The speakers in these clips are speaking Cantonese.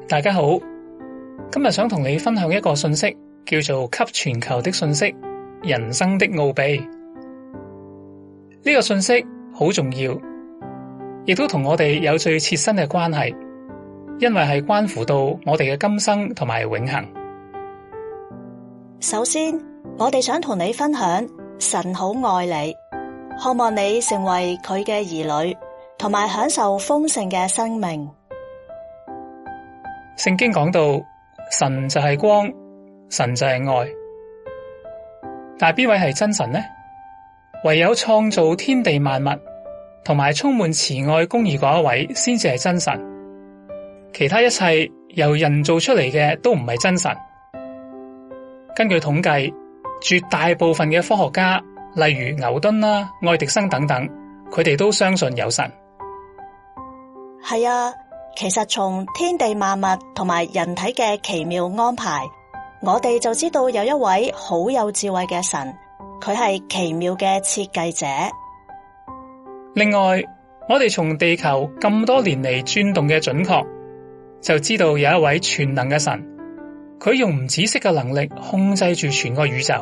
大家好，今日想同你分享一個信息，叫做給全球的信息，人生的奧秘。呢個信息好重要，亦都同我哋有最切身嘅關係，因為係關乎到我哋嘅今生同埋永恆。 首先，我哋想同你分享，神好愛你，渴望你成為佢嘅兒女，同埋享受豐盛嘅生命。 聖經講到，神就係光，神就係愛。但係邊位係真神呢？唯有創造天地萬物，同埋充滿慈愛公義嗰一位，先至係真神。其他一切由人做出嚟嘅都唔係真神。根據統計，絕大部分嘅科學家，例如牛頓啦、愛迪生等等，佢哋都相信有神。 係啊，其實從天地萬物同埋人體嘅奇妙安排，我哋就知道有一位好有智慧嘅神，佢係奇妙嘅設計者。 另外，我哋從地球咁多年嚟轉動嘅準確，就知道有一位全能嘅神。佢用唔止息嘅能力控制住全個宇宙。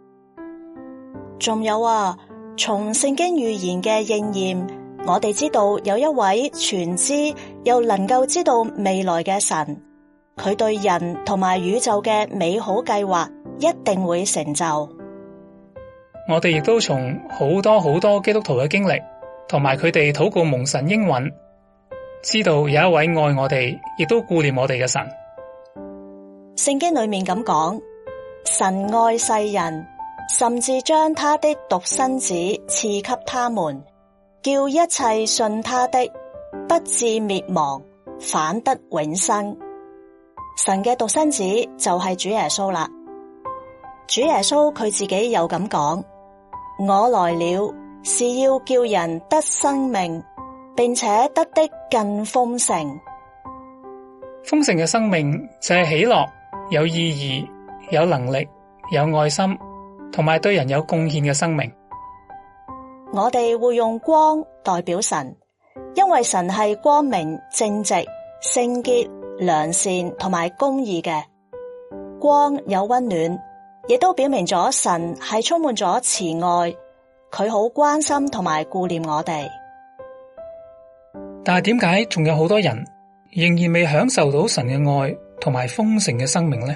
仲有啊，從聖經預言嘅應驗，我哋知道有一位全知又能夠知道未來嘅神，佢對人同埋宇宙嘅美好計劃一定會成就。 我哋亦都從好多基督徒嘅經歷，同埋佢哋禱告蒙神應允，知道有一位愛我哋，亦都顧念我哋嘅神。 聖經裏面咁講，神愛世人，甚至將他的獨生子賜給他們，叫一切信他的不至滅亡，反得永生。神嘅獨生子就係主耶穌啦。主耶穌佢自己又咁講，我來了是要叫人得生命，並且得的更豐盛。 豐盛嘅生命就係喜樂、有意義、有能力、有愛心，同埋對人有貢獻嘅生命。 我哋會用光代表神，因為神係光明、正直、聖潔、良善同埋公義嘅。光有溫暖，亦都表明咗神係充滿咗慈愛，佢好關心同埋顧念我哋。 但係點解仲有好多人仍然未享受到神嘅愛同埋豐盛嘅生命呢？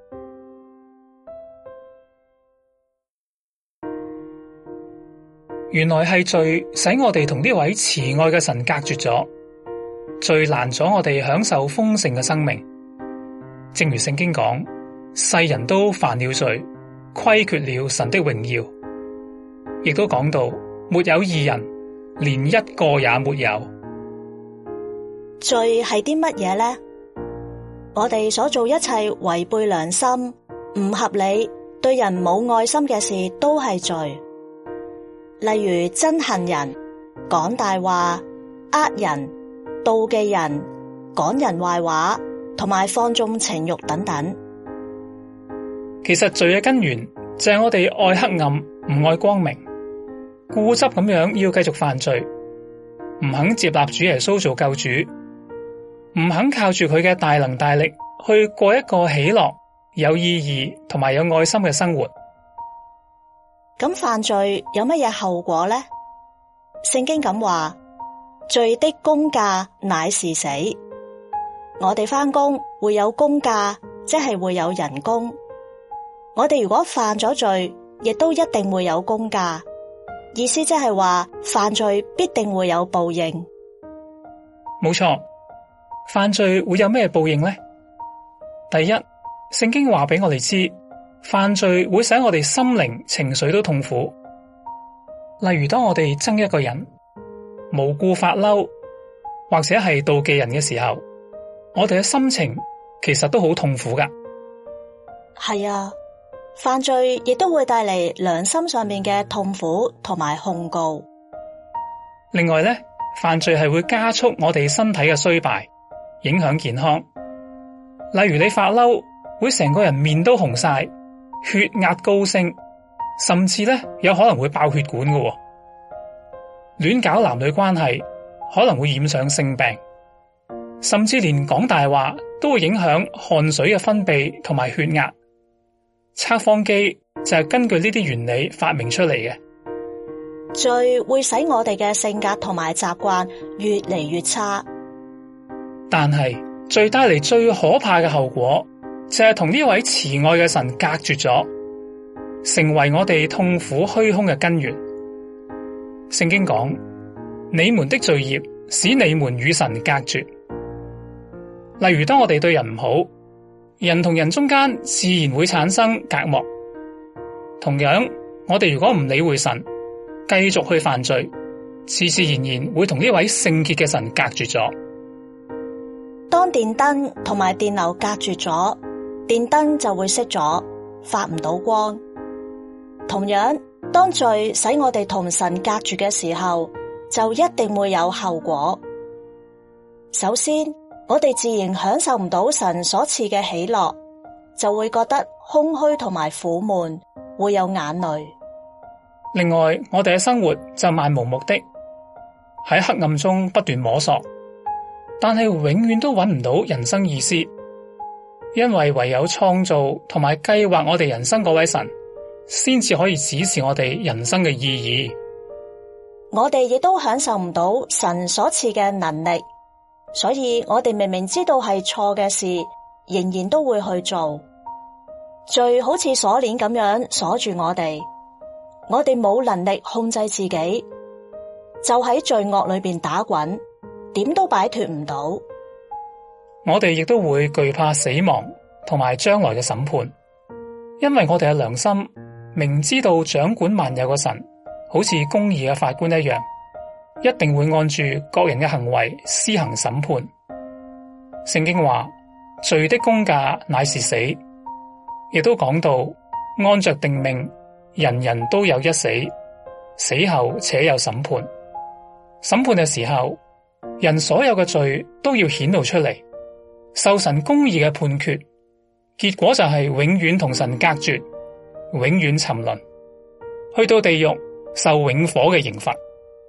原來係罪使我哋同呢位慈愛嘅神隔絕咗，罪攔咗我哋享受豐盛嘅生命。正如聖經講，世人都犯了罪，虧缺了神的榮耀。亦都講到，沒有義人，連一個也沒有。 罪係啲乜嘢呢？我哋所做一切違背良心、唔合理、對人冇愛心嘅事都係罪。例如憎恨人、講大話、呃人、妒忌人、講人壞話，同埋放縱情慾等等。 其實罪嘅根源就係我哋愛黑暗，唔愛光明，固執咁樣要繼續犯罪，唔肯接納主耶穌做救主，唔肯靠住佢嘅大能大力去過一個喜樂、有意義同埋有愛心嘅生活。 咁犯罪有乜嘢後果呢？聖經咁話，罪的工價乃是死。我哋返工會有工價，即係會有人工。我哋如果犯咗罪，亦都一定會有工價。意思即係話，犯罪必定會有報應。 冇錯，犯罪會有咩報應呢？第一，聖經話俾我哋知，犯罪會使我哋心靈、情緒都痛苦。例如，當我哋憎一個人，無故發嬲，或者係妒忌人嘅時候，我哋嘅心情其實都好痛苦噶。 係啊，犯罪亦都會帶嚟良心上面嘅痛苦同埋控告。 另外咧，犯罪係會加速我哋身體嘅衰敗，影響健康。例如你發嬲，會成個人面都紅晒，血壓高升，甚至咧有可能會爆血管嘅。亂搞男女關係可能會染上性病， 甚至連講大話都會影響汗水嘅分泌同埋血壓。測謊機就係根據呢啲原理發明出嚟嘅。 罪會使我哋嘅性格同埋習慣越嚟越差， 但係罪帶嚟最可怕嘅後果就係同呢位慈愛嘅神隔絕咗，成為我哋痛苦虛空嘅根源。聖經講，你們的罪孽使你們與神隔絕。例如當我哋對人唔好，人同人中間自然會產生隔膜。同樣，我哋如果唔理會神，繼續去犯罪，自自然然會同呢位聖潔嘅神隔絕咗。 當電燈同埋電流隔絕咗，電燈就會熄咗，發唔到光。同樣，當罪使我哋同神隔絕嘅時候，就一定會有後果。首先，我哋自然享受唔到神所賜嘅喜樂，就會覺得空虛同埋苦悶，會有眼淚。 另外，我哋嘅生活就漫無目的，喺黑暗中不斷摸索，但係永遠都揾唔到人生意思，因為唯有創造同埋計劃我哋人生嗰位神，先至可以指示我哋人生嘅意義。 我哋亦都享受唔到神所賜嘅能力，所以我哋明明知道係錯嘅事，仍然都會去做。罪好似鎖鏈咁樣鎖住我哋冇能力控制自己，就喺罪惡裏邊打滾，點都擺脫唔到。 我哋亦都會懼怕死亡同埋將來嘅審判，因為我哋嘅良心明知道掌管萬有嘅神好似公義嘅法官一樣，一定會按住各人嘅行為施行審判。聖經話，罪的工價乃是死，亦都講到按着定命，人人都有一死，死後且有審判。審判嘅時候，人所有嘅罪都要顯露出嚟，受神公義嘅判決，結果就係永遠同神隔絕，永遠沉淪，去到地獄受永火嘅刑罰。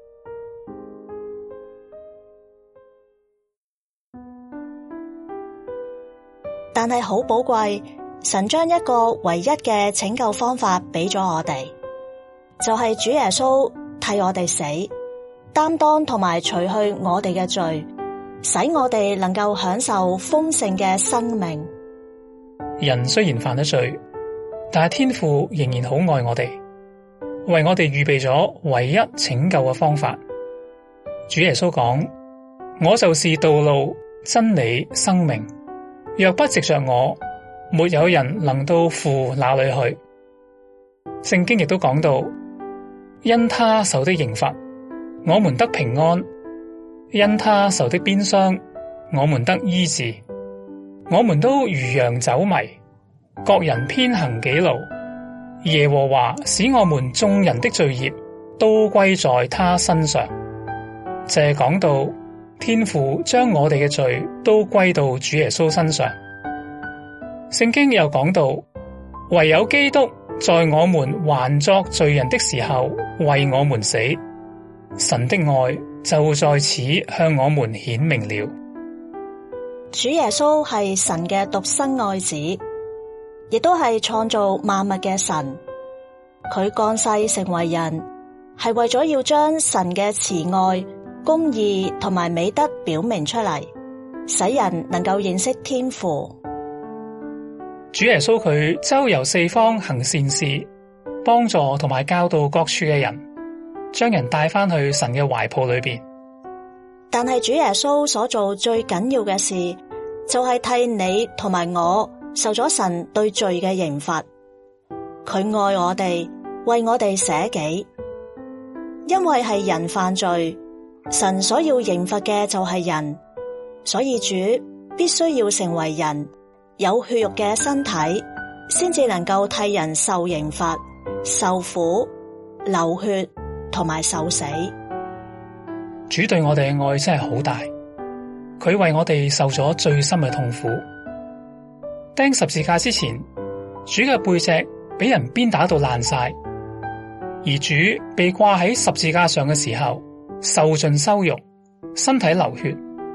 但係好寶貴，神將一個唯一嘅拯救方法俾咗我哋，就係主耶穌替我哋死，擔當同埋除去我哋嘅罪，使我哋能夠享受豐盛嘅生命。 人雖然犯咗罪，但係天父仍然好愛我哋，為我哋預備咗唯一拯救嘅方法。主耶穌講，我就是道路、真理、生命，若不藉着我，沒有人能到父那裡去。聖經亦都講到，因他受的刑罰，我們得平安；因他受的鞭傷，我們得醫治。我們都如羊走迷，各人偏行己路。耶和華使我們眾人的罪孽都歸在他身上。就係講到天父將我哋嘅罪都歸到主耶穌身上。聖經又講到，唯有基督在我們還作罪人的時候為我們死，神的愛就在此向我們顯明了。 主耶穌係神嘅獨生愛子，亦都係創造萬物嘅神。佢降世成為人，係為咗要將神嘅慈愛、公義同埋美德表明出嚟，使人能夠認識天父。 主耶穌佢周遊四方行善事，幫助同埋教導各處嘅人，將人帶返去神嘅懷抱裏邊。 但係主耶穌所做最緊要嘅事，就係替你同埋我受咗神對罪嘅刑罰。佢愛我哋，為我哋捨己。因為係人犯罪，神所要刑罰嘅就係人，所以主必須要成為人，有血肉嘅身體，先至能夠替人受刑罰、受苦、流血同埋受死。 主對我哋嘅愛真係好大，佢為我哋受咗最深嘅痛苦。釘十字架之前，主嘅背脊俾人鞭打到爛晒，而主被掛喺十字架上嘅時候，受盡羞辱，身體流血，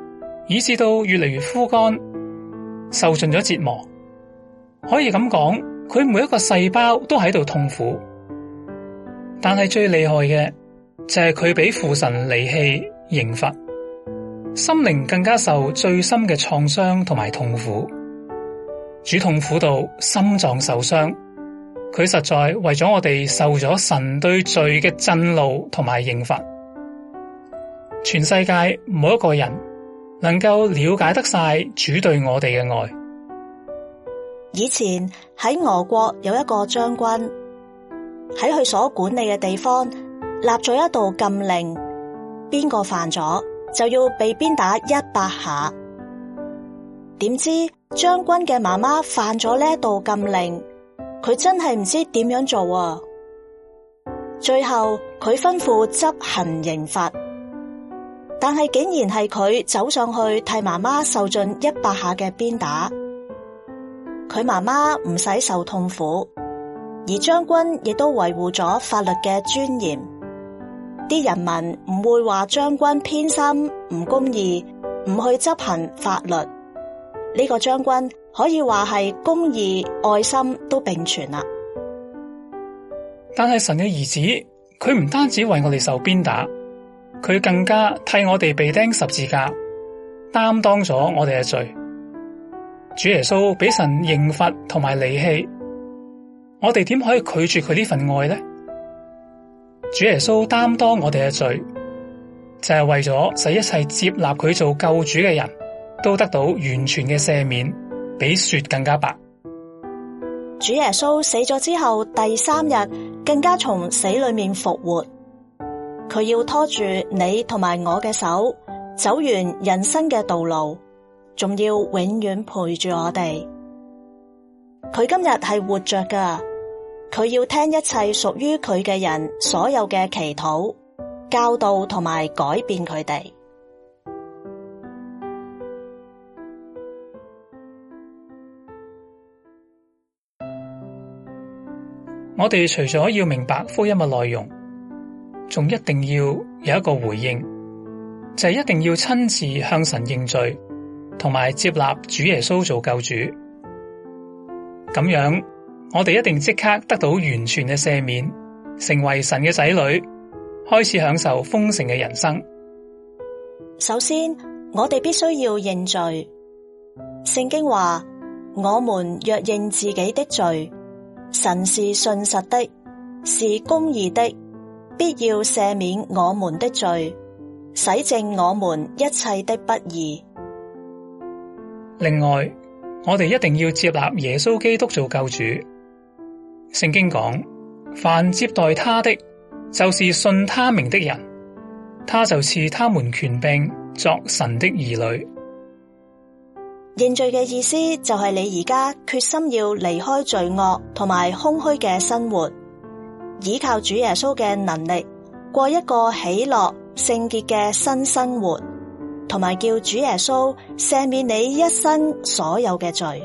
以致到越嚟越枯乾，受盡咗折磨。可以咁講，佢每一個細胞都喺度痛苦。但係最厲害嘅就係佢俾父神離棄刑罰，心靈更加受最深嘅創傷同埋痛苦。主痛苦到心臟受傷，佢實在為咗我哋受咗神對罪嘅震怒同埋刑罰。全世界冇一個人能夠了解得晒主對我哋嘅愛。 以前喺俄國有一個將軍，喺佢所管理嘅地方立咗一道禁令，邊個犯咗就要被鞭打100下。點知將軍嘅媽媽犯咗呢一道禁令，佢真係唔知點樣做啊！最後佢吩咐執行刑罰，但係竟然係佢走上去替媽媽受盡100下嘅鞭打。佢媽媽唔使受痛苦，而將軍亦都維護咗法律嘅尊嚴。啲人民唔會話將軍偏心、唔公義、唔去執行法律。呢個將軍可以話係公義、愛心都並存啦。 但係神嘅兒子，佢唔單止為我哋受鞭打，佢更加替我哋被釘十字架，擔當咗我哋嘅罪。主耶穌俾神刑罰同埋離棄，我哋點可以拒絕佢呢份愛呢？主耶穌擔當我哋嘅罪，就係為咗使一切接納佢做救主嘅人都得到完全嘅赦免，比雪更加白。 主耶穌死咗之後，第3日更加從死裏面復活。佢要拖住你同埋我嘅手，走完人生嘅道路，仲要永遠陪住我哋。佢今日係活着㗎，佢要聽一切屬於佢嘅人所有嘅祈禱、教導同埋改變佢哋。 我哋除咗要明白福音嘅內容，仲一定要有一個回應，就係一定要親自向神認罪，同埋接納主耶穌做救主。咁樣，我哋一定即刻得到完全嘅赦免，成為神嘅仔女，開始享受豐盛嘅人生。 首先，我哋必須要認罪。聖經話：我們若認自己的罪，神是信實的，是公義的，必要赦免我們的罪，洗淨我們一切的不義。 另外，我哋一定要接納耶穌基督做救主。聖經講：凡接待他的，就是信他名的人，他就賜他們權柄作神的兒女。 認罪嘅意思就係你而家決心要離開罪惡同埋空虛嘅生活，依靠主耶穌嘅能力，過一個喜樂聖潔嘅新生活，同埋叫主耶穌赦免你一生所有嘅罪。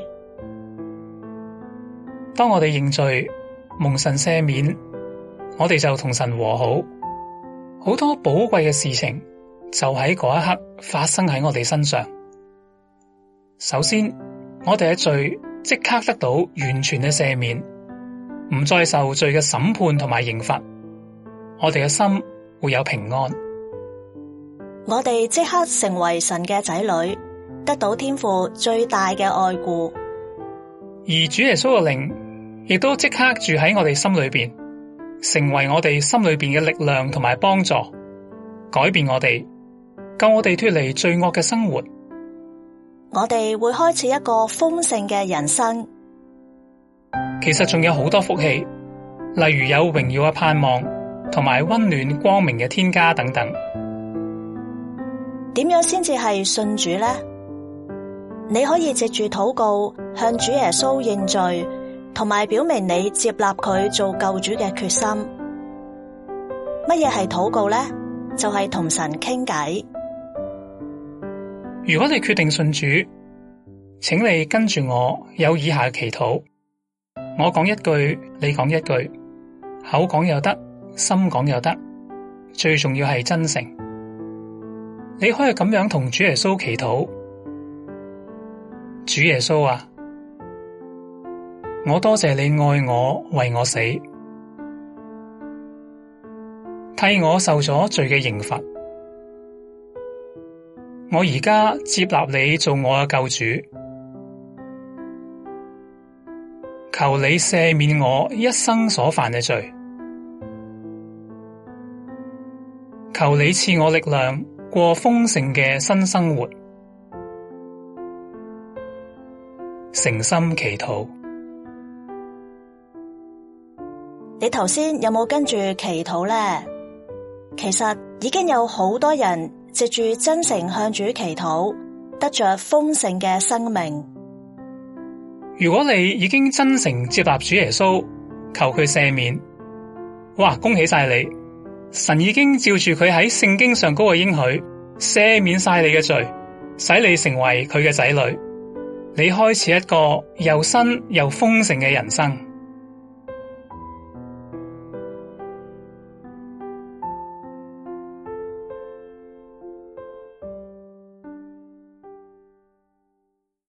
當我哋認罪，蒙神赦免，我哋就同神和好，好多寶貴嘅事情就喺嗰一刻發生喺我哋身上。首先，我哋嘅罪即刻得到完全嘅赦免，唔再受罪嘅審判同埋刑罰，我哋嘅心會有平安。 我哋即刻成為神嘅仔女，得到天父最大嘅愛顧。 而主耶穌嘅靈亦都即刻住喺我哋心裏邊，成為我哋心裏邊嘅力量同埋幫助，改變我哋，救我哋脫離罪惡嘅生活。 我哋會開始一個豐盛嘅人生。 其實仲有好多福氣，例如有榮耀嘅盼望，同埋溫暖光明嘅天家等等。 點樣先至係信主呢？你可以藉住禱告向主耶穌認罪，同埋表明你接納佢做救主嘅決心。乜嘢係禱告呢？就係同神傾偈。 如果你決定信主，請你跟住我有以下嘅祈禱。我講一句，你講一句，口講又得，心講又得，最重要係真誠。 你可以咁樣同主耶穌祈禱：主耶穌啊，我多謝你愛我，為我死，替我受咗罪嘅刑罰。我而家接納你做我嘅救主，求你赦免我一生所犯嘅罪，求你賜我力量過豐盛嘅新生活。誠心祈禱。 你頭先有冇跟住祈禱呢？其實已經有好多人藉住真誠向主祈禱，得着豐盛嘅生命。 如果你已經真誠接納主耶穌，求佢赦免，哇！恭喜晒你，神已經照住佢喺聖經上嗰個應許，赦免晒你嘅罪，使你成為佢嘅仔女。你開始一個又新又豐盛嘅人生。